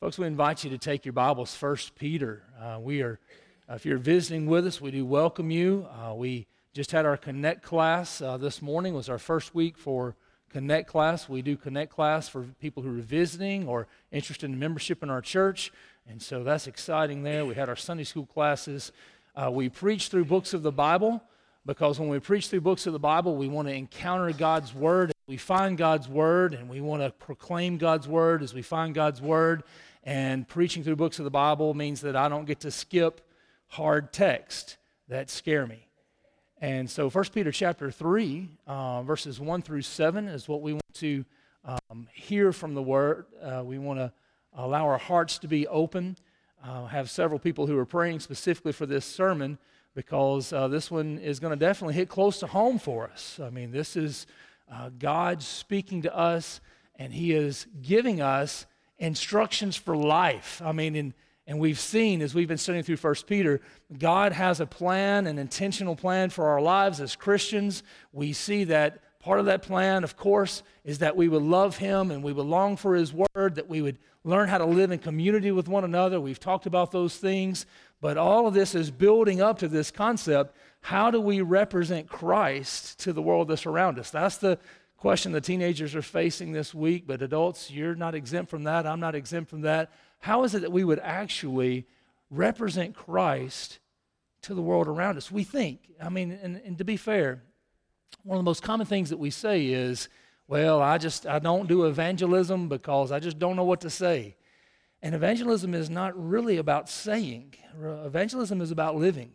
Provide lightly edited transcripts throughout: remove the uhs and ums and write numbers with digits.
Folks, we invite you to take your Bibles, 1 Peter. If you're visiting with us, we do welcome you. We just had our Connect class this morning. It was our first week for Connect class. We do Connect class for people who are visiting or interested in membership in our church, and so that's exciting there. We had our Sunday school classes. We preach through books of the Bible because when we preach through books of the Bible, we want to encounter God's Word. We find God's Word, and we want to proclaim God's Word as we find God's Word. And preaching through books of the Bible means that I don't get to skip hard text that scare me. And so 1 Peter chapter 3, verses 1 through 7 is what we want to hear from the Word. We want to allow our hearts to be open. Have several people who are praying specifically for this sermon because this one is going to definitely hit close to home for us. I mean, this is God speaking to us, and He is giving us instructions for life. I mean, and we've seen, as we've been studying through 1 Peter, God has a plan, an intentional plan for our lives as Christians. We see that part of that plan, of course, is that we would love Him and we would long for His Word, that we would learn how to live in community with one another. We've talked about those things, but all of this is building up to this concept: how do we represent Christ to the world that's around us? That's the question the teenagers are facing this week, but adults, you're not exempt from that. I'm not exempt from that. How is it that we would actually represent Christ to the world around us? We think, I mean, and to be fair, one of the most common things that we say is, well, I don't do evangelism because I just don't know what to say. And evangelism is not really about saying. Evangelism is about living.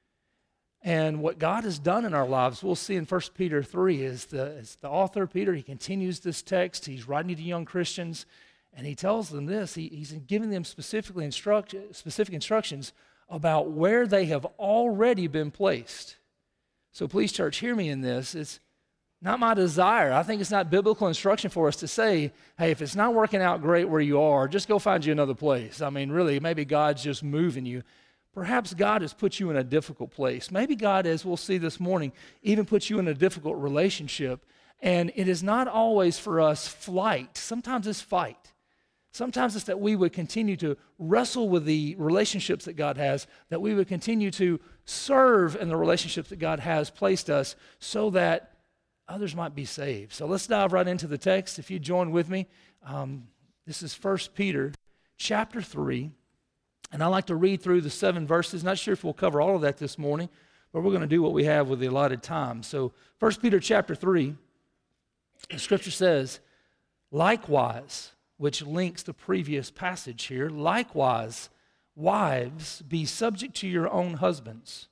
And what God has done in our lives, we'll see in 1 Peter 3, is the author, Peter, he continues this text. He's writing to young Christians, and he tells them this. He's giving them specific instructions about where they have already been placed. So please, church, hear me in this. It's not my desire. I think it's not biblical instruction for us to say, hey, if it's not working out great where you are, just go find you another place. I mean, really, maybe God's just moving you. Perhaps God has put you in a difficult place. Maybe God, as we'll see this morning, even puts you in a difficult relationship. And it is not always for us flight. Sometimes it's fight. Sometimes it's that we would continue to wrestle with the relationships that God has, that we would continue to serve in the relationships that God has placed us so that others might be saved. So let's dive right into the text. If you join with me, this is 1 Peter chapter 3. And I like to read through the 7 verses. Not sure if we'll cover all of that this morning, but we're going to do what we have with the allotted time. So 1 Peter chapter 3, the scripture says, likewise, which links the previous passage here, likewise, wives, be subject to your own husbands,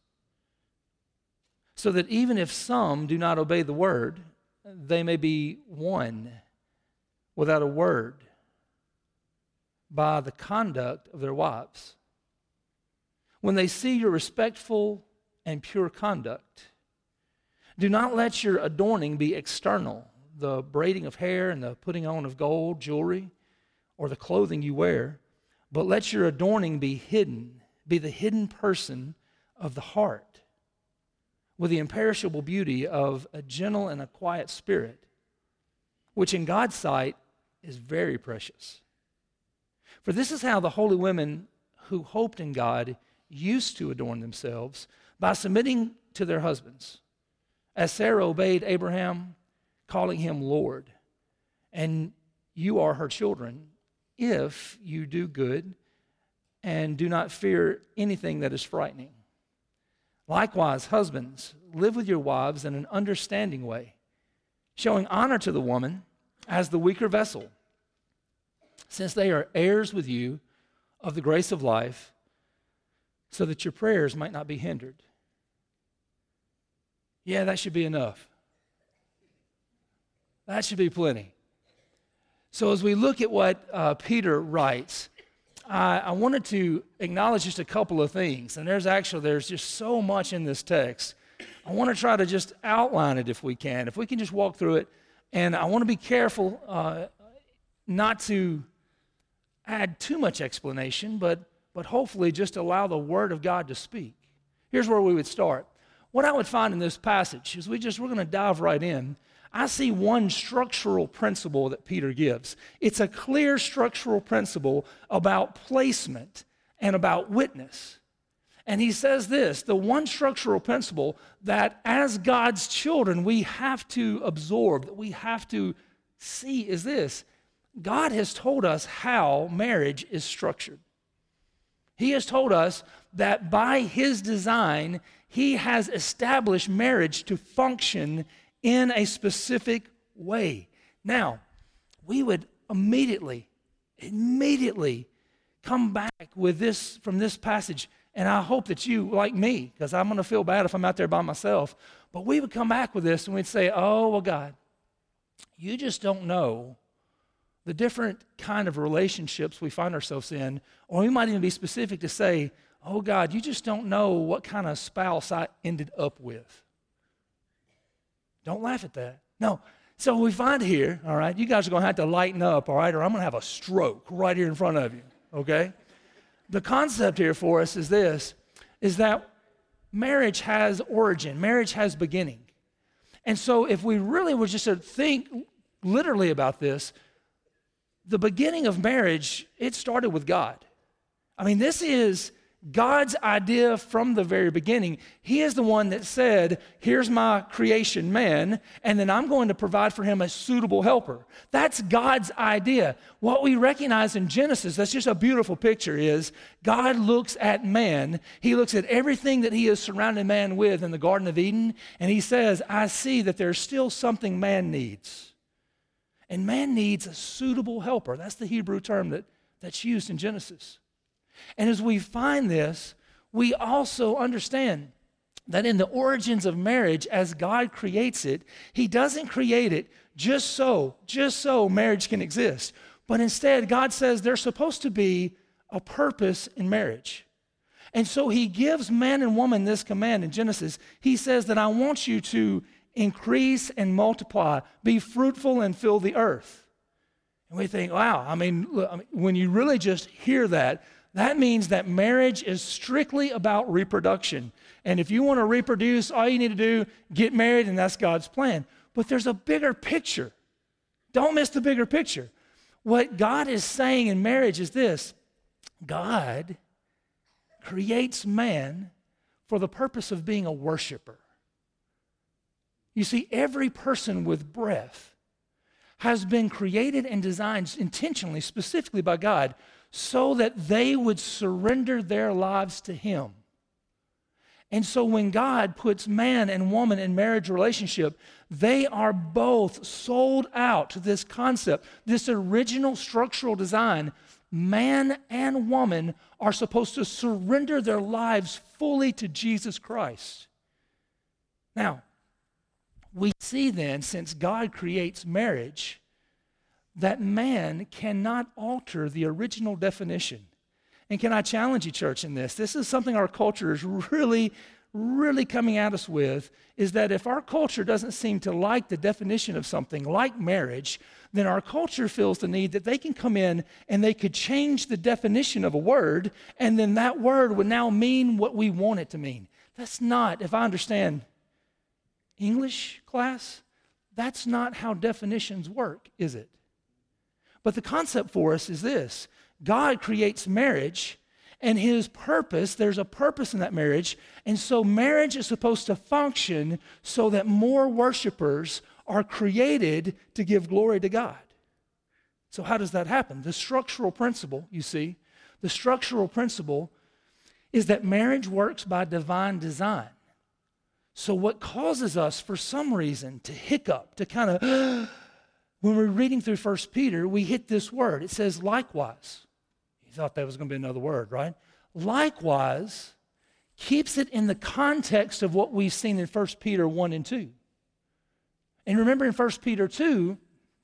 so that even if some do not obey the word, they may be won without a word by the conduct of their wives, when they see your respectful and pure conduct. Do not let your adorning be external, the braiding of hair and the putting on of gold, jewelry, or the clothing you wear, but let your adorning be hidden, be the hidden person of the heart, with the imperishable beauty of a gentle and a quiet spirit, which in God's sight is very precious. For this is how the holy women who hoped in God used to adorn themselves, by submitting to their husbands, as Sarah obeyed Abraham, calling him Lord. And you are her children, if you do good and do not fear anything that is frightening. Likewise, husbands, live with your wives in an understanding way, showing honor to the woman as the weaker vessel, since they are heirs with you of the grace of life, so that your prayers might not be hindered. Yeah, that should be enough. That should be plenty. So as we look at what Peter writes, I wanted to acknowledge just a couple of things. And there's just so much in this text. I want to try to just outline it if we can just walk through it. And I want to be careful not to add too much explanation, but hopefully just allow the Word of God to speak. Here's where we would start. What I would find in this passage is we're going to dive right in. I see one structural principle that Peter gives. It's a clear structural principle about placement and about witness. And he says this, the one structural principle that as God's children we have to absorb, that we have to see is this. God has told us how marriage is structured. He has told us that by his design, he has established marriage to function in a specific way. Now, we would immediately come back with this from this passage. And I hope that you, like me, because I'm going to feel bad if I'm out there by myself, but we would come back with this and we'd say, oh, well, God, you just don't know the different kind of relationships we find ourselves in, or we might even be specific to say, oh, God, you just don't know what kind of spouse I ended up with. Don't laugh at that. No. So we find here, all right, you guys are going to have to lighten up, all right, or I'm going to have a stroke right here in front of you, okay? The concept here for us is this, is that marriage has origin, marriage has beginning. And so if we really were just to think literally about this, the beginning of marriage, it started with God. I mean, this is God's idea from the very beginning. He is the one that said, here's my creation man, and then I'm going to provide for him a suitable helper. That's God's idea. What we recognize in Genesis, that's just a beautiful picture, is God looks at man. He looks at everything that he has surrounded man with in the Garden of Eden, and he says, I see that there's still something man needs. And man needs a suitable helper. That's the Hebrew term that's used in Genesis. And as we find this, we also understand that in the origins of marriage, as God creates it, he doesn't create it just so marriage can exist. But instead, God says there's supposed to be a purpose in marriage. And so he gives man and woman this command in Genesis. He says that I want you to increase and multiply, be fruitful and fill the earth. And we think, wow, I mean, when you really just hear that, that means that marriage is strictly about reproduction. And if you want to reproduce, all you need to do, get married, and that's God's plan. But there's a bigger picture. Don't miss the bigger picture. What God is saying in marriage is this: God creates man for the purpose of being a worshiper. You see, every person with breath has been created and designed intentionally, specifically by God, so that they would surrender their lives to him. And so when God puts man and woman in marriage relationship, they are both sold out to this concept, this original structural design. Man and woman are supposed to surrender their lives fully to Jesus Christ. Now, we see then, since God creates marriage, that man cannot alter the original definition. And can I challenge you, church, in this? This is something our culture is really coming at us with, is that if our culture doesn't seem to like the definition of something like marriage, then our culture feels the need that they can come in and they could change the definition of a word, and then that word would now mean what we want it to mean. That's not, if I understand English class, that's not how definitions work, is it? But the concept for us is this: God creates marriage, and his purpose, there's a purpose in that marriage, and so marriage is supposed to function so that more worshipers are created to give glory to God. So how does that happen? The structural principle, you see, the structural principle is that marriage works by divine design. So what causes us, for some reason, to hiccup, to kind of, when we're reading through 1 Peter, we hit this word. It says, likewise. You thought that was going to be another word, right? Likewise keeps it in the context of what we've seen in 1 Peter 1 and 2. And remember in 1 Peter 2,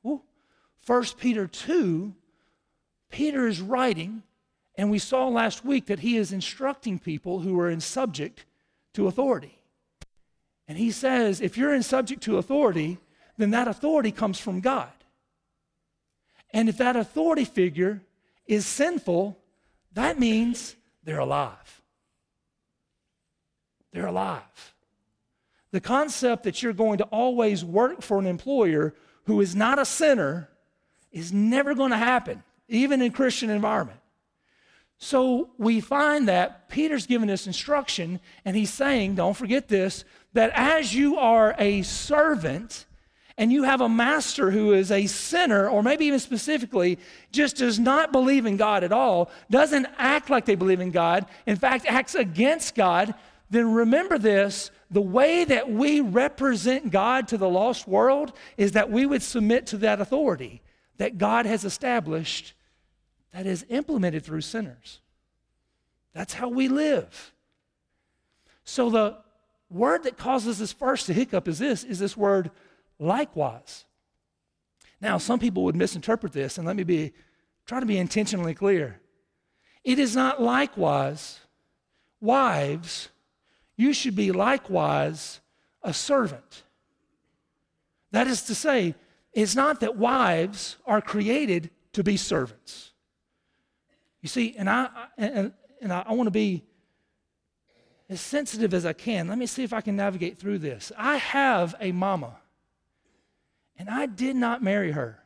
Peter is writing, and we saw last week that he is instructing people who are in subject to authority. And he says, if you're in subject to authority, then that authority comes from God. And if that authority figure is sinful, that means they're alive. They're alive. The concept that you're going to always work for an employer who is not a sinner is never going to happen, even in a Christian environment. So we find that Peter's giving this instruction, and he's saying, don't forget this, that as you are a servant and you have a master who is a sinner, or maybe even specifically just does not believe in God at all, doesn't act like they believe in God, in fact, acts against God, then remember this, the way that we represent God to the lost world is that we would submit to that authority that God has established that is implemented through sinners. That's how we live. So the word that causes us first to hiccup is this word likewise. Now, some people would misinterpret this, and let me try to be intentionally clear. It is not likewise, wives, you should be likewise a servant. That is to say, it's not that wives are created to be servants. You see, and I want to be as sensitive as I can. Let me see if I can navigate through this. I have a mama, and I did not marry her.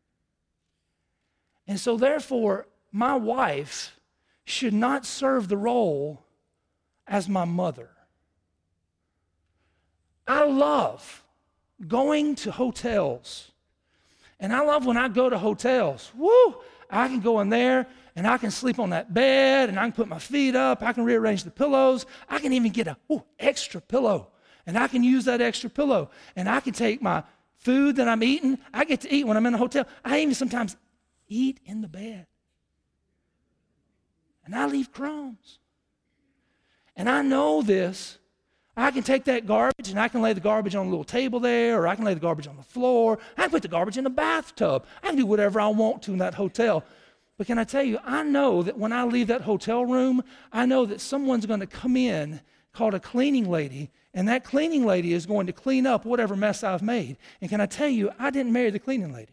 And so therefore, my wife should not serve the role as my mother. I love going to hotels. And I love when I go to hotels. Woo! I can go in there and I can sleep on that bed and I can put my feet up. I can rearrange the pillows. I can even get a extra pillow. And I can use that extra pillow. And I can take my food that I'm eating. I get to eat when I'm in a hotel. I even sometimes eat in the bed. And I leave crumbs. And I know this. I can take that garbage and I can lay the garbage on a little table there, or I can lay the garbage on the floor. I can put the garbage in the bathtub. I can do whatever I want to in that hotel. But can I tell you, I know that when I leave that hotel room, I know that someone's going to come in called a cleaning lady, and that cleaning lady is going to clean up whatever mess I've made. And can I tell you, I didn't marry the cleaning lady.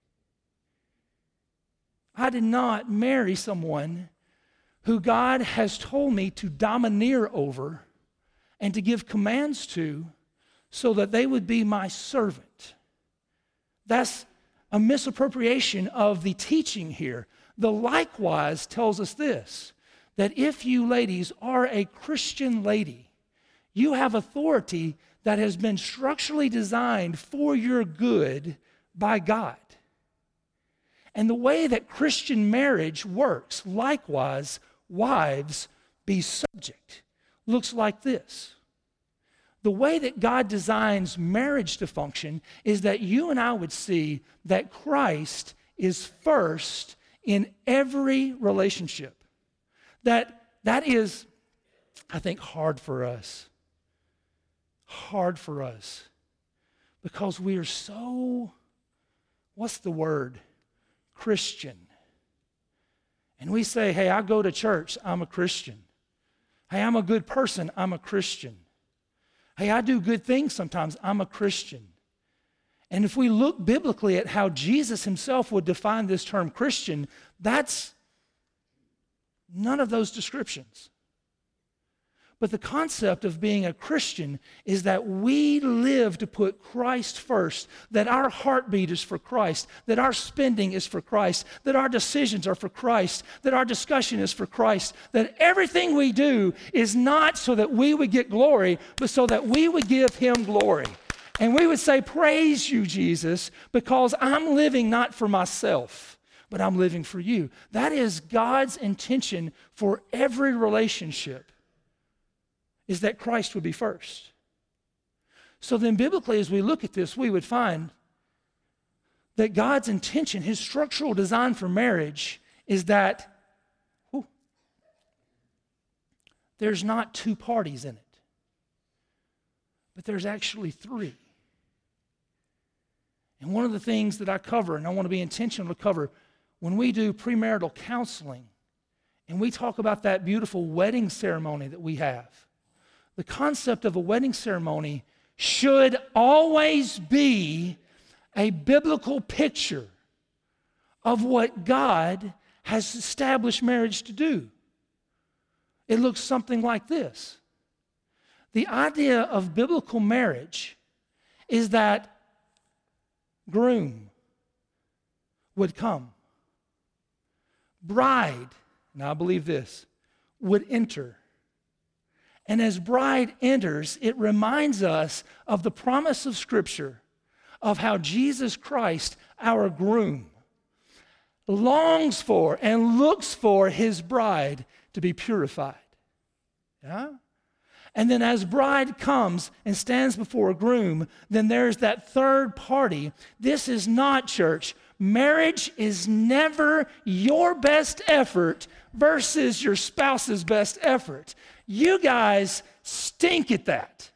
I did not marry someone who God has told me to domineer over and to give commands to so that they would be my servant. That's a misappropriation of the teaching here. The likewise tells us this, that if you ladies are a Christian lady, you have authority that has been structurally designed for your good by God. And the way that Christian marriage works, likewise, wives, be subject, looks like this. The way that God designs marriage to function is that you and I would see that Christ is first in every relationship. That is, I think, hard for us. Hard for us. Because we are so, what's the word? Christian. And we say, hey, I go to church, I'm a Christian. Hey, I'm a good person, I'm a Christian. Hey, I do good things sometimes, I'm a Christian. And if we look biblically at how Jesus himself would define this term Christian, that's none of those descriptions. But the concept of being a Christian is that we live to put Christ first, that our heartbeat is for Christ, that our spending is for Christ, that our decisions are for Christ, that our discussion is for Christ, that everything we do is not so that we would get glory, but so that we would give him glory. And we would say, praise you, Jesus, because I'm living not for myself, but I'm living for you. That is God's intention for every relationship, is that Christ would be first. So then biblically, as we look at this, we would find that God's intention, his structural design for marriage, is that there's not two parties in it, but there's actually three. And one of the things that I cover, and I want to be intentional to cover, when we do premarital counseling, and we talk about that beautiful wedding ceremony that we have, the concept of a wedding ceremony should always be a biblical picture of what God has established marriage to do. It looks something like this. The idea of biblical marriage is that groom would come. Bride, and I believe this, would enter. And as bride enters, it reminds us of the promise of Scripture of how Jesus Christ, our groom, longs for and looks for his bride to be purified. Yeah? And then as bride comes and stands before a groom, then there's that third party. This is not, church, marriage is never your best effort versus your spouse's best effort. You guys stink at that.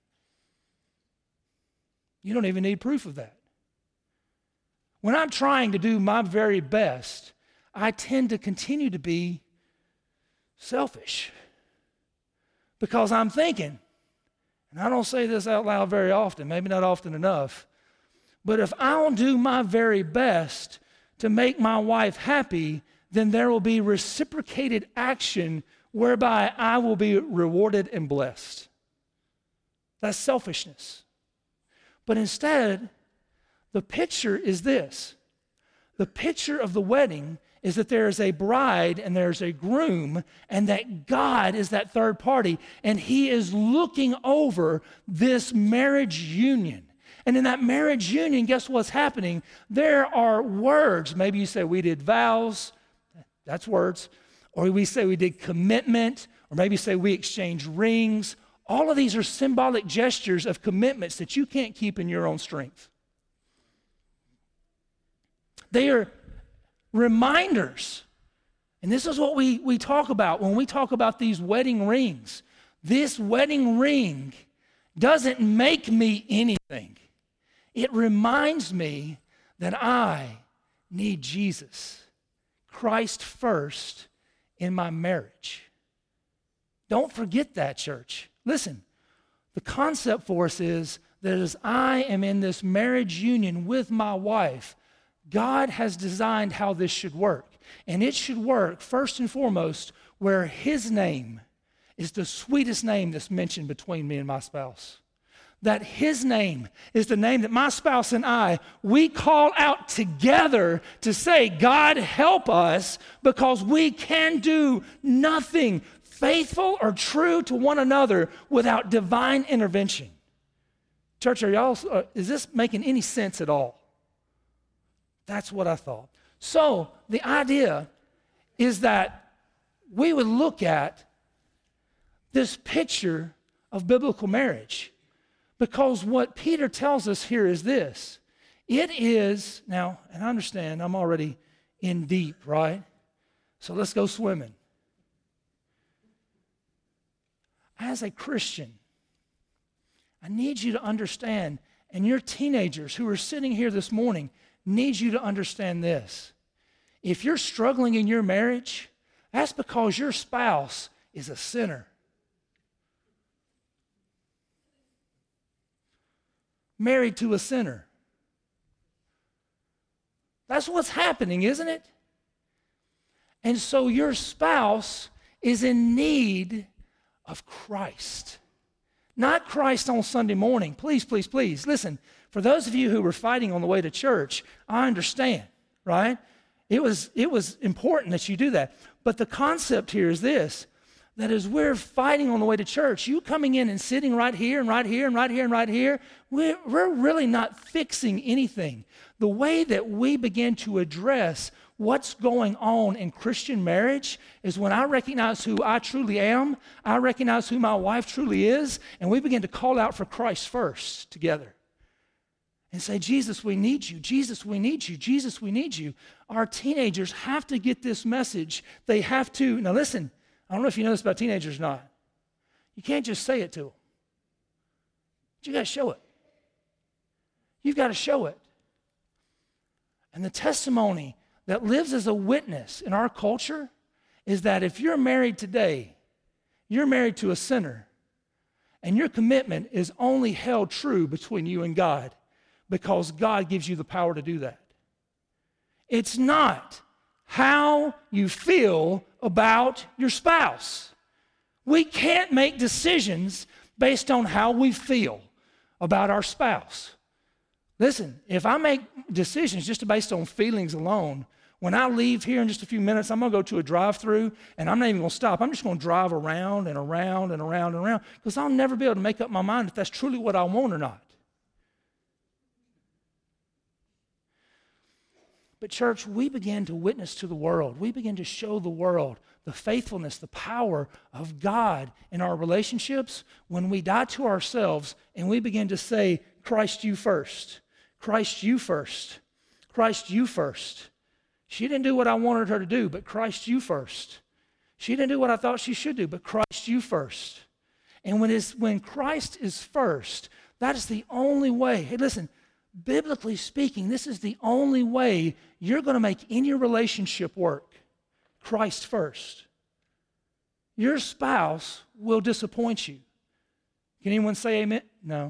You don't even need proof of that. When I'm trying to do my very best, I tend to continue to be selfish because I'm thinking, and I don't say this out loud very often, maybe not often enough, but if I don't do my very best to make my wife happy, then there will be reciprocated action whereby I will be rewarded and blessed. That's selfishness. But instead, the picture is this. The picture of the wedding is that there is a bride and there's a groom, and that God is that third party, and he is looking over this marriage union. And in that marriage union, guess what's happening? There are words. Maybe you say we did vows. That's words. Or we say we did commitment. Or maybe you say we exchanged rings. All of these are symbolic gestures of commitments that you can't keep in your own strength. They are reminders. And this is what we talk about when we talk about these wedding rings. This wedding ring doesn't make me anything. It reminds me that I need Jesus, Christ first in my marriage. Don't forget that, church. Listen, the concept for us is that as I am in this marriage union with my wife, God has designed how this should work. And it should work first and foremost where his name is the sweetest name that's mentioned between me and my spouse. That his name is the name that my spouse and I, we call out together to say, God, help us, because we can do nothing faithful or true to one another without divine intervention. Church, is this making any sense at all? That's what I thought. So the idea is that we would look at this picture of biblical marriage, because what Peter tells us here is this. It is, now, and I understand I'm already in deep, right? So let's go swimming. As a Christian, I need you to understand, and your teenagers who are sitting here this morning need you to understand this. If you're struggling in your marriage, that's because your spouse is a sinner. Married to a sinner. That's what's happening, isn't it? And so your spouse is in need of Christ. Not Christ on Sunday morning. Please, please, please. Listen, for those of you who were fighting on the way to church, I understand, right? It was important that you do that. But the concept here is this, that as we're fighting on the way to church, you coming in and sitting right here and right here and right here and right here, we're really not fixing anything. The way that we begin to address what's going on in Christian marriage is when I recognize who I truly am, I recognize who my wife truly is, and we begin to call out for Christ first together. And say, Jesus, we need you. Jesus, we need you. Jesus, we need you. Our teenagers have to get this message. They have to. Now listen, I don't know if you know this about teenagers or not. You can't just say it to them. But you got to show it. You've got to show it. And the testimony that lives as a witness in our culture is that if you're married today, you're married to a sinner, and your commitment is only held true between you and God because God gives you the power to do that. It's not how you feel about your spouse. We can't make decisions based on how we feel about our spouse. Listen, if I make decisions just based on feelings alone, when I leave here in just a few minutes, I'm going to go to a drive-through, and I'm not even going to stop. I'm just going to drive around and around and around and around, because I'll never be able to make up my mind if that's truly what I want or not. But church, we begin to witness to the world. We begin to show the world the faithfulness, the power of God in our relationships when we die to ourselves and we begin to say, Christ, you first. Christ, you first. Christ, you first. She didn't do what I wanted her to do, but Christ, you first. She didn't do what I thought she should do, but Christ, you first. And when Christ is first, that is the only way. Hey, listen, biblically speaking, this is the only way you're going to make any relationship work. Christ first. Your spouse will disappoint you. Can anyone say amen? No.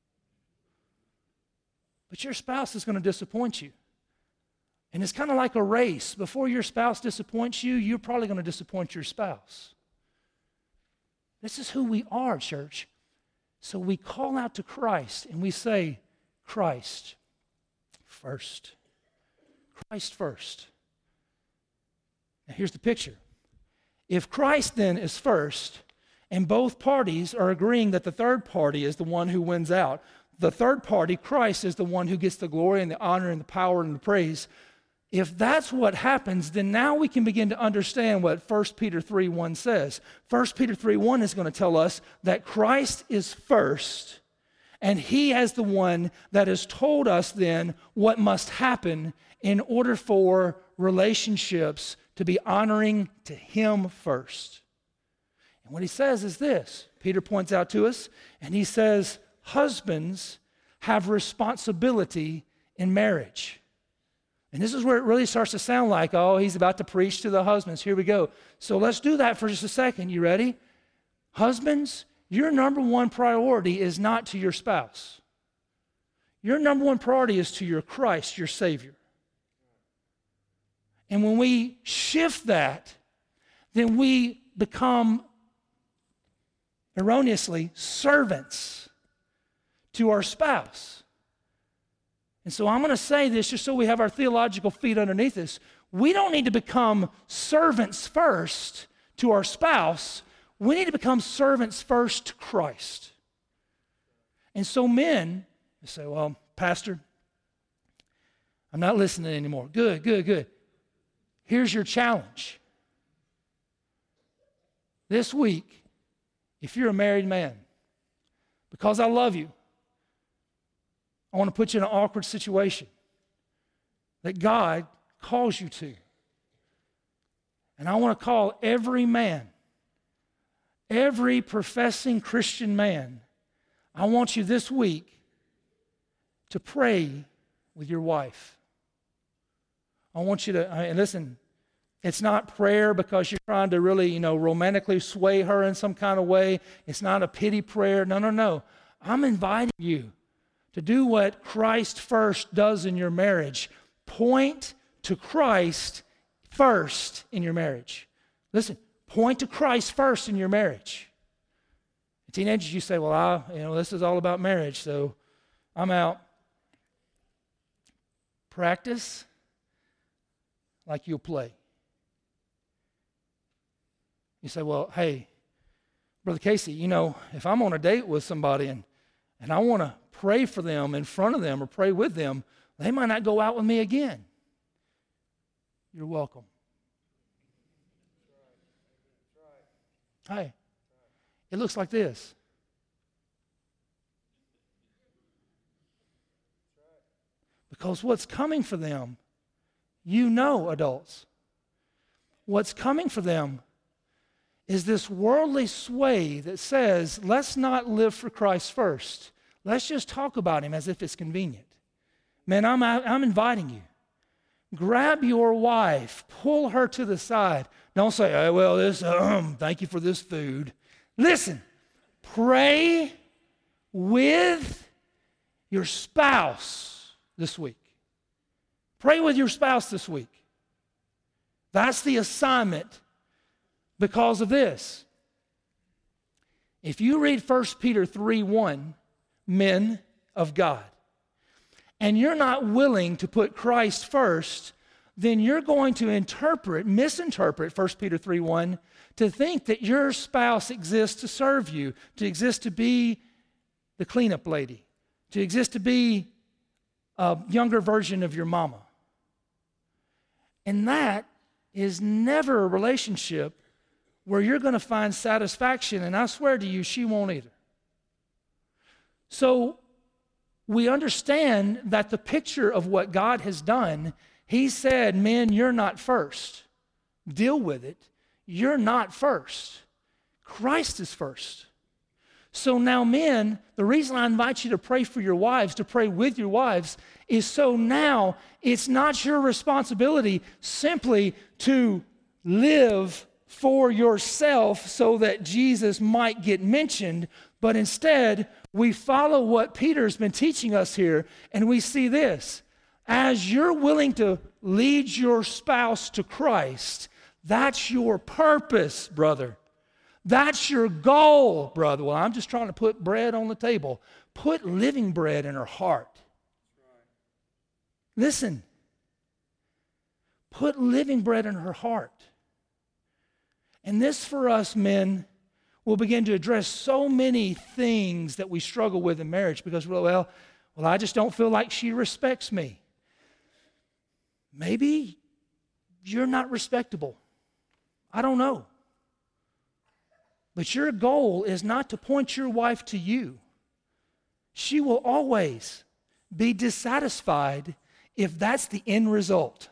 But your spouse is going to disappoint you. And it's kind of like a race. Before your spouse disappoints you, you're probably going to disappoint your spouse. This is who we are, church. So we call out to Christ and we say, Christ first. Christ first. Now here's the picture. If Christ then is first, and both parties are agreeing that the third party is the one who wins out, the third party, Christ, is the one who gets the glory and the honor and the power and the praise. If that's what happens, then now we can begin to understand what 1 Peter 3:1 says. 1 Peter 3:1 is going to tell us that Christ is first, and he is the one that has told us then what must happen in order for relationships to be honoring to him first. And what he says is this. Peter points out to us, and he says, husbands have responsibility in marriage. And this is where it really starts to sound like, oh, he's about to preach to the husbands. Here we go. So let's do that for just a second. You ready? Husbands, your number one priority is not to your spouse. Your number one priority is to your Christ, your Savior. And when we shift that, then we become erroneously servants to our spouse. And so I'm going to say this just so we have our theological feet underneath us. We don't need to become servants first to our spouse. We need to become servants first to Christ. And so men say, well, Pastor, I'm not listening anymore. Good. Here's your challenge. This week, if you're a married man, because I love you, I want to put you in an awkward situation that God calls you to. And I want to call every man, every professing Christian man, I want you this week to pray with your wife. I want you to, and listen, it's not prayer because you're trying to really, romantically sway her in some kind of way. It's not a pity prayer. No. I'm inviting you to do what Christ first does in your marriage. Point to Christ first in your marriage. Listen, point to Christ first in your marriage. Teenagers, you say, well, this is all about marriage, so I'm out. Practice like you'll play. You say, well, hey, Brother Casey, if I'm on a date with somebody and I want to pray for them in front of them or pray with them, they might not go out with me again. You're welcome. Hey, it looks like this. Because what's coming for them, adults, what's coming for them is this worldly sway that says, let's not live for Christ first. Let's just talk about him as if it's convenient. Man, I'm inviting you. Grab your wife, pull her to the side. Don't say, hey, well, thank you for this food. Listen, pray with your spouse this week. Pray with your spouse this week. That's the assignment because of this. If you read 1 Peter 3:1, men of God, and you're not willing to put Christ first, then you're going to misinterpret 1 Peter 3:1 to think that your spouse exists to serve you, to exist to be the cleanup lady, to exist to be a younger version of your mama. And that is never a relationship where you're going to find satisfaction, and I swear to you, she won't either. So we understand that the picture of what God has done, He said, men, you're not first. Deal with it. You're not first. Christ is first. So now, men, the reason I invite you to pray for your wives, to pray with your wives, is so now it's not your responsibility simply to live for yourself so that Jesus might get mentioned, but instead we follow what Peter's been teaching us here, and we see this. As you're willing to lead your spouse to Christ, that's your purpose, brother. That's your goal, brother. Well, I'm just trying to put bread on the table. Put living bread in her heart. Listen. Put living bread in her heart. And this, for us men, will begin to address so many things that we struggle with in marriage because, well, I just don't feel like she respects me. Maybe you're not respectable. I don't know. But your goal is not to point your wife to you. She will always be dissatisfied if that's the end result.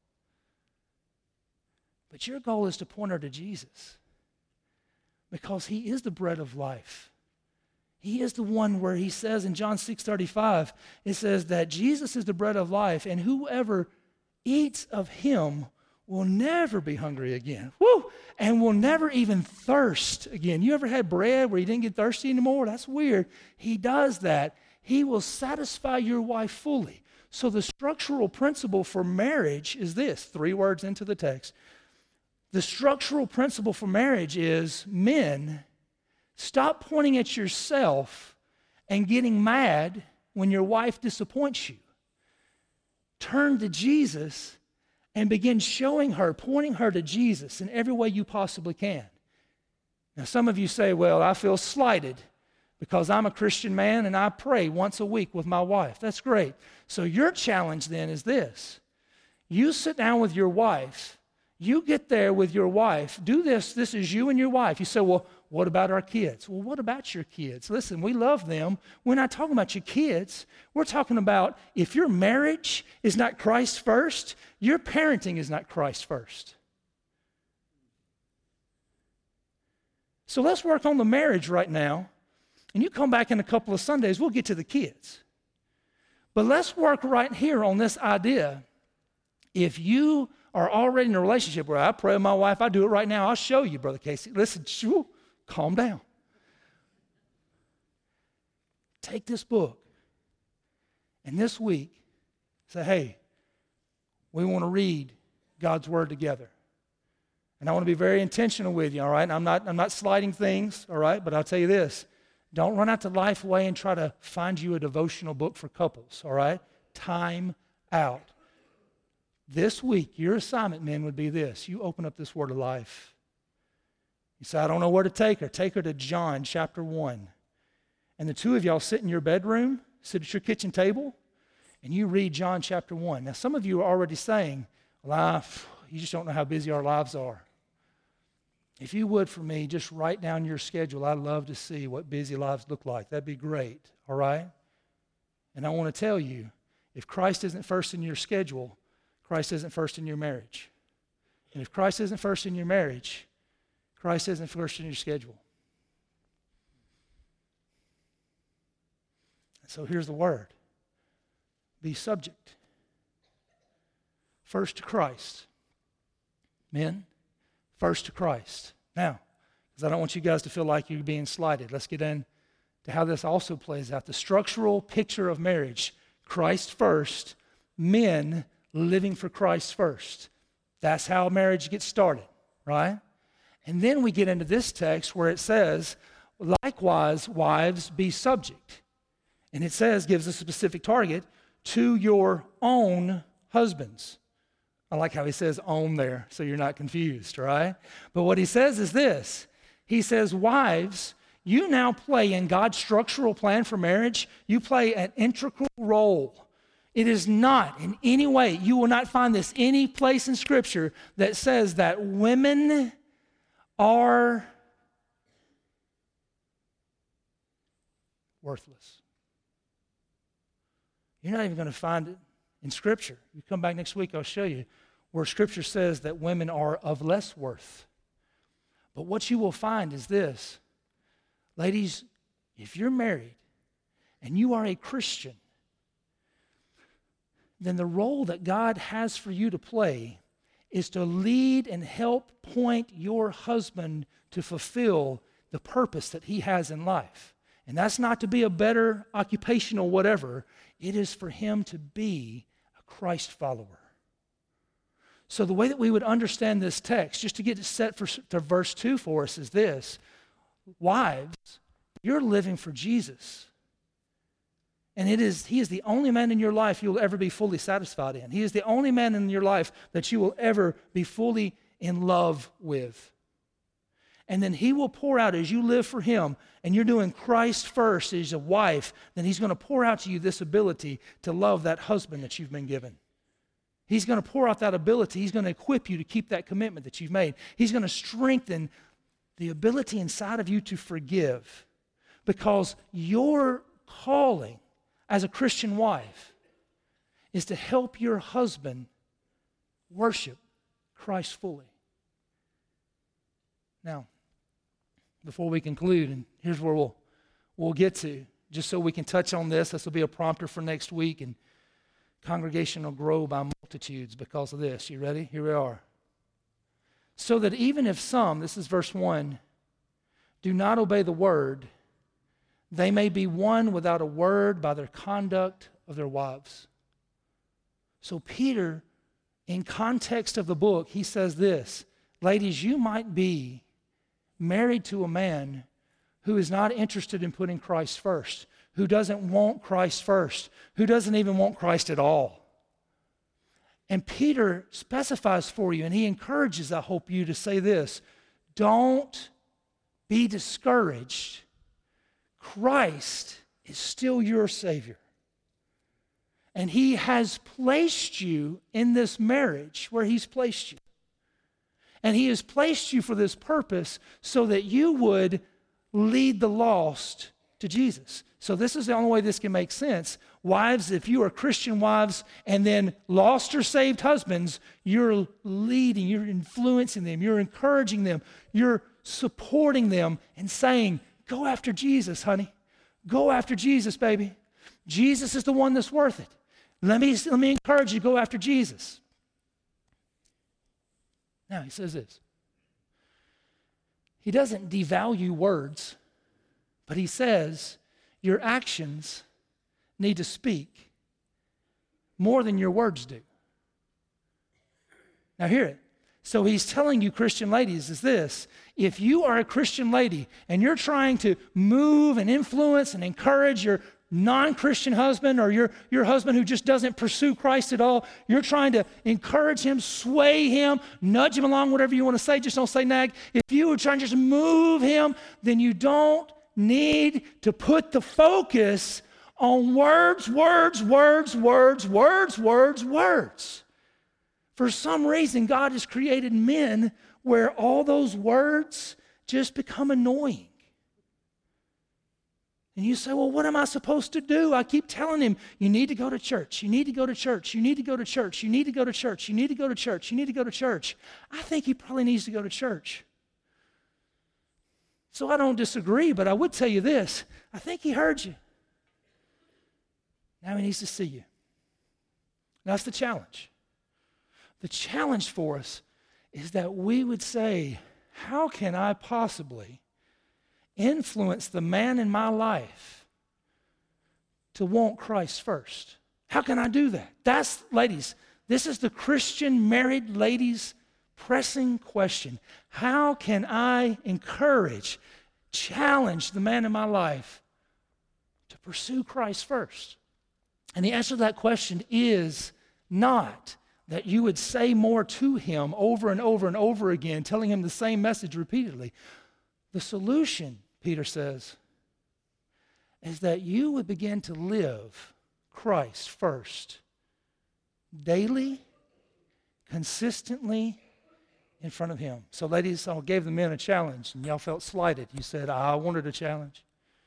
But your goal is to point her to Jesus because He is the bread of life. He is the one where He says in John 6:35, it says that Jesus is the bread of life, and whoever eats of Him will never be hungry again. Woo! And will never even thirst again. You ever had bread where you didn't get thirsty anymore? That's weird. He does that. He will satisfy your wife fully. So the structural principle for marriage is this, 3 words into the text. The structural principle for marriage is, men, stop pointing at yourself and getting mad when your wife disappoints you. Turn to Jesus and begin showing her, pointing her to Jesus in every way you possibly can. Now, some of you say, well, I feel slighted because I'm a Christian man and I pray once a week with my wife. That's great. So your challenge then is this. You sit down with your wife. You get there with your wife. Do this. This is you and your wife. You say, well, what about our kids? Well, what about your kids? Listen, we love them. We're not talking about your kids. We're talking about if your marriage is not Christ first, your parenting is not Christ first. So let's work on the marriage right now. And you come back in a couple of Sundays, we'll get to the kids. But let's work right here on this idea. If you are already in a relationship where I pray with my wife, I do it right now, I'll show you, Brother Casey. Listen, calm down. Take this book, and this week, say, hey, we want to read God's Word together. And I want to be very intentional with you, all right? I'm not sliding things, all right? But I'll tell you this. Don't run out to Lifeway and try to find you a devotional book for couples, all right? Time out. This week, your assignment, men, would be this. You open up this Word of Life. You say, I don't know where to take her. Take her to John chapter 1. And the two of y'all sit in your bedroom, sit at your kitchen table, and you read John chapter 1. Now, some of you are already saying, well, you just don't know how busy our lives are. If you would, for me, just write down your schedule. I'd love to see what busy lives look like. That'd be great, all right? And I want to tell you, if Christ isn't first in your schedule, Christ isn't first in your marriage. And if Christ isn't first in your marriage, Christ isn't first in your schedule. So here's the word. Be subject. First to Christ. Men, first to Christ. Now, because I don't want you guys to feel like you're being slighted, let's get into how this also plays out. The structural picture of marriage. Christ first, men living for Christ first. That's how marriage gets started, right? And then we get into this text where it says, Likewise, wives, be subject. And it says, gives a specific target, to your own husbands. I like how he says own there, so you're not confused, right? But what he says is this. He says, wives, you now play in God's structural plan for marriage, you play an integral role. It is not in any way, you will not find this any place in Scripture that says that women are worthless. You're not even going to find it in Scripture. You come back next week, I'll show you where Scripture says that women are of less worth. But what you will find is this. Ladies, if you're married and you are a Christian, then the role that God has for you to play is to lead and help point your husband to fulfill the purpose that he has in life. And that's not to be a better occupational whatever. It is for him to be a Christ follower. So the way that we would understand this text, just to get it set to verse 2 for us, is this. Wives, you're living for Jesus. And he is the only man in your life you will ever be fully satisfied in. He is the only man in your life that you will ever be fully in love with. And then he will pour out as you live for him and you're doing Christ first as a wife, then he's going to pour out to you this ability to love that husband that you've been given. He's going to pour out that ability. He's going to equip you to keep that commitment that you've made. He's going to strengthen the ability inside of you to forgive, because your calling as a Christian wife is to help your husband worship Christ fully. Now, before we conclude, and here's where we'll get to, just so we can touch on this. This will be a prompter for next week, and congregation will grow by multitudes because of this. You ready? Here we are. So that even if some, this is verse 1, do not obey the word, they may be won without a word by their conduct of their wives. So Peter, in context of the book, he says this, ladies, you might be married to a man who is not interested in putting Christ first, who doesn't want Christ first, who doesn't even want Christ at all. And Peter specifies for you, and he encourages, I hope, you to say this, don't be discouraged. Christ is still your Savior. And he has placed you in this marriage where he's placed you. And he has placed you for this purpose so that you would lead the lost to Jesus. So this is the only way this can make sense. Wives, if you are Christian wives and then lost or saved husbands, you're leading, you're influencing them, you're encouraging them, you're supporting them and saying, go after Jesus, honey. Go after Jesus, baby. Jesus is the one that's worth it. Let me encourage you to go after Jesus. Now, he says this. He doesn't devalue words, but he says your actions need to speak more than your words do. Now, hear it. So he's telling you, Christian ladies, is this. If you are a Christian lady and you're trying to move and influence and encourage your non-Christian husband or your husband who just doesn't pursue Christ at all, you're trying to encourage him, sway him, nudge him along, whatever you want to say, just don't say nag. If you are trying to just move him, then you don't need to put the focus on words. For some reason, God has created men where all those words just become annoying. And you say, well, what am I supposed to do? I keep telling him, you need to go to church. You need to go to church. You need to go to church. You need to go to church. You need to go to church. You need to go to church. I think he probably needs to go to church. So I don't disagree, but I would tell you this. I think he heard you. Now he needs to see you. That's the challenge. The challenge for us is that we would say, how can I possibly influence the man in my life to want Christ first? How can I do that? That's, ladies, this is the Christian married ladies' pressing question. How can I encourage challenge the man in my life to pursue Christ first? And the answer to that question is not that you would say more to him over and over and over again, telling him the same message repeatedly. The solution, Peter says, is that you would begin to live Christ first, daily, consistently in front of him. So ladies, I gave the men a challenge, and y'all felt slighted. You said, I wanted a challenge.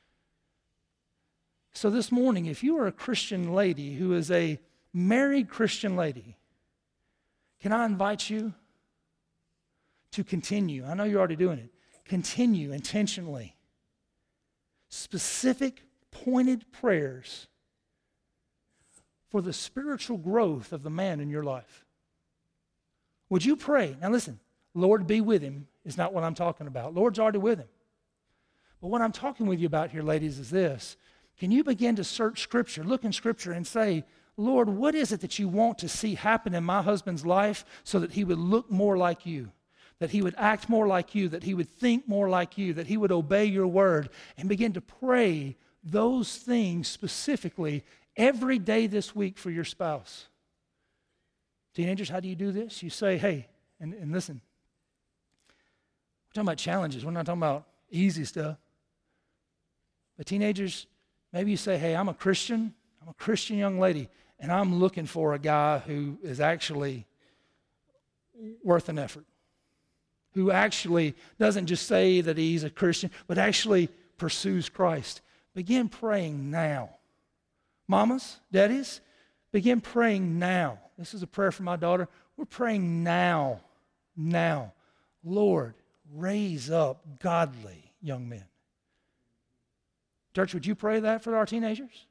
So this morning, if you are a Christian lady who is a married Christian lady, can I invite you to continue? I know you're already doing it. Continue intentionally. Specific, pointed prayers for the spiritual growth of the man in your life. Would you pray? Now listen, Lord be with him is not what I'm talking about. Lord's already with him. But what I'm talking with you about here, ladies, is this. Can you begin to search Scripture, look in Scripture and say, Lord, what is it that you want to see happen in my husband's life so that he would look more like you, that he would act more like you, that he would think more like you, that he would obey your word, and begin to pray those things specifically every day this week for your spouse. Teenagers, how do you do this? You say, hey, and listen, we're talking about challenges. We're not talking about easy stuff. But teenagers, maybe you say, hey, I'm a Christian young lady, and I'm looking for a guy who is actually worth an effort, who actually doesn't just say that he's a Christian, but actually pursues Christ. Begin praying now. Mamas, daddies, begin praying now. This is a prayer for my daughter. We're praying now. Lord, raise up godly young men. Church, would you pray that for our teenagers?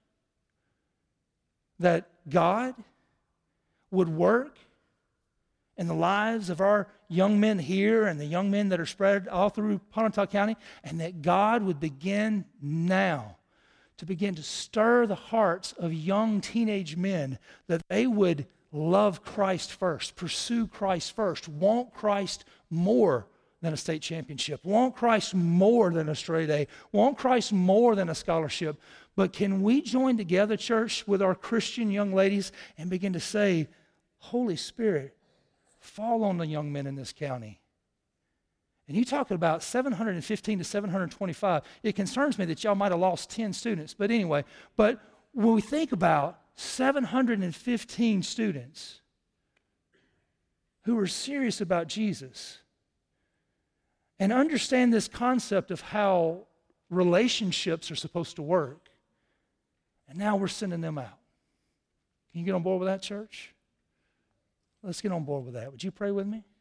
That God would work in the lives of our young men here and the young men that are spread all through Pontotoc County, and that God would begin now to begin to stir the hearts of young teenage men, that they would love Christ first, pursue Christ first, want Christ more than a state championship, want Christ more than a straight A, want Christ more than a scholarship. But can we join together, church, with our Christian young ladies and begin to say, Holy Spirit, fall on the young men in this county? And you talk about 715 to 725. It concerns me that y'all might have lost 10 students. But anyway, when we think about 715 students who are serious about Jesus and understand this concept of how relationships are supposed to work, and now we're sending them out. Can you get on board with that, church? Let's get on board with that. Would you pray with me?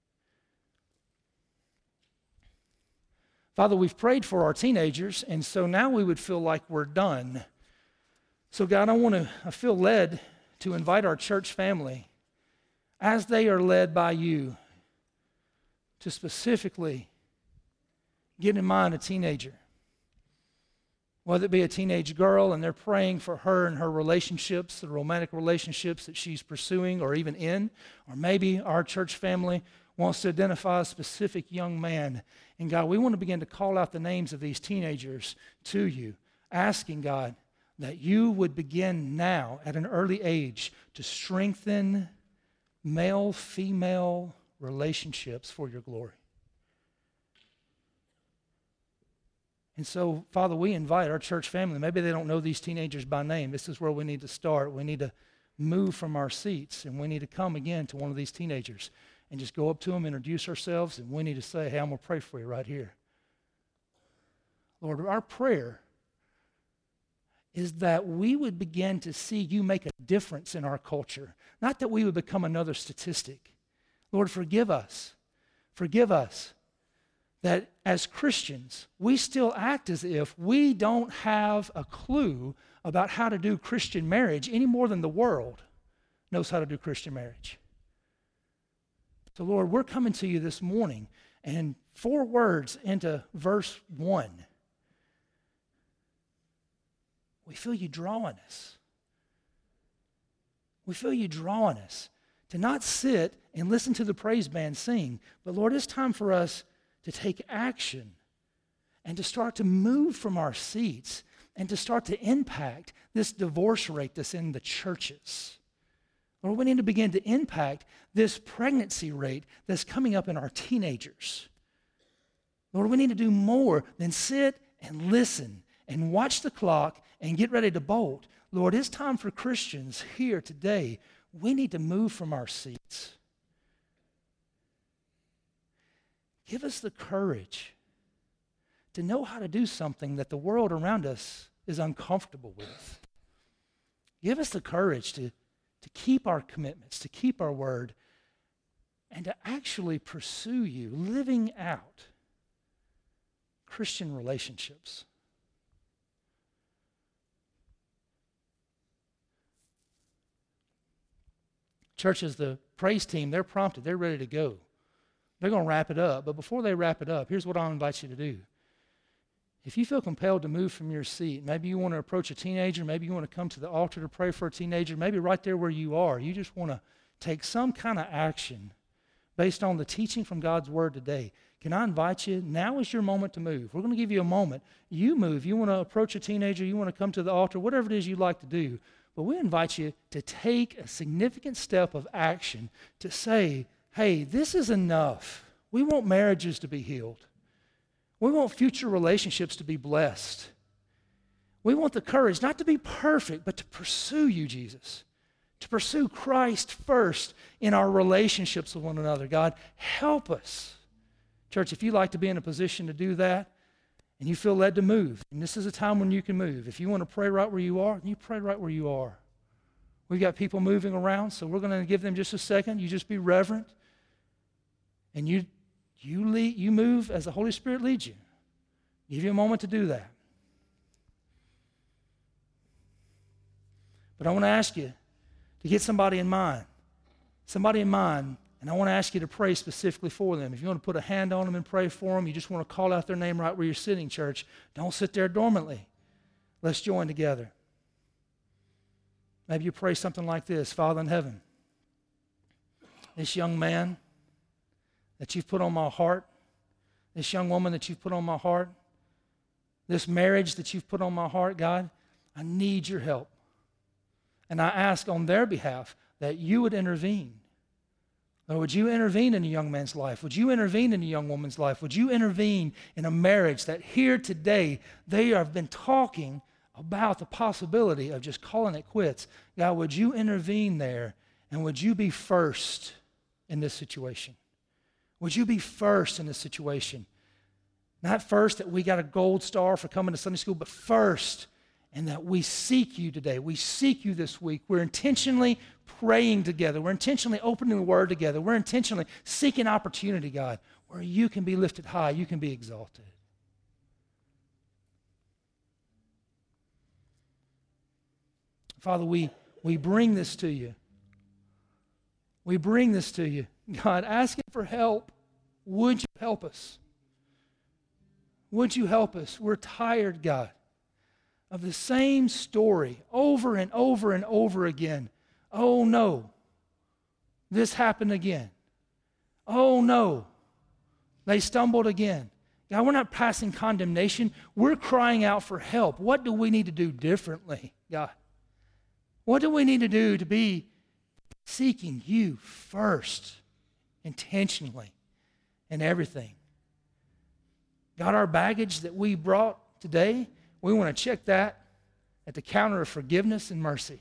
Father, we've prayed for our teenagers, and so now we would feel like we're done. So God, I feel led to invite our church family, as they are led by you, to specifically get in mind a teenager. Whether it be a teenage girl and they're praying for her and her relationships, the romantic relationships that she's pursuing or even in, or maybe our church family wants to identify a specific young man. And God, we want to begin to call out the names of these teenagers to you, asking God that you would begin now at an early age to strengthen male-female relationships for your glory. And so, Father, we invite our church family. Maybe they don't know these teenagers by name. This is where we need to start. We need to move from our seats, and we need to come again to one of these teenagers and just go up to them, introduce ourselves, and we need to say, hey, I'm going to pray for you right here. Lord, our prayer is that we would begin to see you make a difference in our culture, not that we would become another statistic. Lord, forgive us. Forgive us that as Christians, we still act as if we don't have a clue about how to do Christian marriage any more than the world knows how to do Christian marriage. So, Lord, we're coming to you this morning, and 4 words into verse 1, we feel you drawing us. We feel you drawing us to not sit and listen to the praise band sing, but Lord, it's time for us to take action and to start to move from our seats and to start to impact this divorce rate that's in the churches. Lord, we need to begin to impact this pregnancy rate that's coming up in our teenagers. Lord, we need to do more than sit and listen and watch the clock and get ready to bolt. Lord, it's time for Christians here today. We need to move from our seats. Give us the courage to know how to do something that the world around us is uncomfortable with. Give us the courage to keep our commitments, to keep our word, and to actually pursue you, living out Christian relationships. Churches, the praise team, they're prompted, they're ready to go. They're going to wrap it up, but before they wrap it up, here's what I'll invite you to do. If you feel compelled to move from your seat, maybe you want to approach a teenager, maybe you want to come to the altar to pray for a teenager, maybe right there where you are, you just want to take some kind of action based on the teaching from God's Word today. Can I invite you? Now is your moment to move. We're going to give you a moment. You move. You want to approach a teenager, you want to come to the altar, whatever it is you'd like to do. But we invite you to take a significant step of action to say, hey, this is enough. We want marriages to be healed. We want future relationships to be blessed. We want the courage not to be perfect, but to pursue you, Jesus. To pursue Christ first in our relationships with one another. God, help us. Church, if you'd like to be in a position to do that, and you feel led to move, and this is a time when you can move. If you want to pray right where you are, you pray right where you are. We've got people moving around, so we're going to give them just a second. You just be reverent, and you move as the Holy Spirit leads you. Give you a moment to do that. But I want to ask you to get somebody in mind, and I want to ask you to pray specifically for them. If you want to put a hand on them and pray for them, you just want to call out their name right where you're sitting, church. Don't sit there dormantly. Let's join together. Maybe you pray something like this: Father in heaven, this young man that you've put on my heart, this young woman that you've put on my heart, this marriage that you've put on my heart, God, I need your help. And I ask on their behalf that you would intervene. Lord, would you intervene in a young man's life? Would you intervene in a young woman's life? Would you intervene in a marriage that here today they have been talking about the possibility of just calling it quits? God, would you intervene there, and would you be first in this situation? Would you be first in this situation? Not first that we got a gold star for coming to Sunday school, but first, and that we seek you today. We seek you this week. We're intentionally praying together. We're intentionally opening the Word together. We're intentionally seeking opportunity, God, where you can be lifted high, you can be exalted. Father, we bring this to you. We bring this to you. God, asking for help. Would you help us? Would you help us? We're tired, God, of the same story over and over and over again. Oh no, this happened again. Oh no, they stumbled again. God, we're not passing condemnation. We're crying out for help. What do we need to do differently, God? What do we need to do to be seeking you first, intentionally, in everything? God, our baggage that we brought today, we want to check that at the counter of forgiveness and mercy.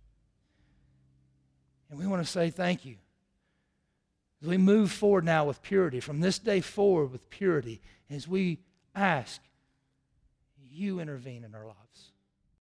And we want to say thank you. As we move forward now with purity, from this day forward with purity, as we ask, you intervene in our lives.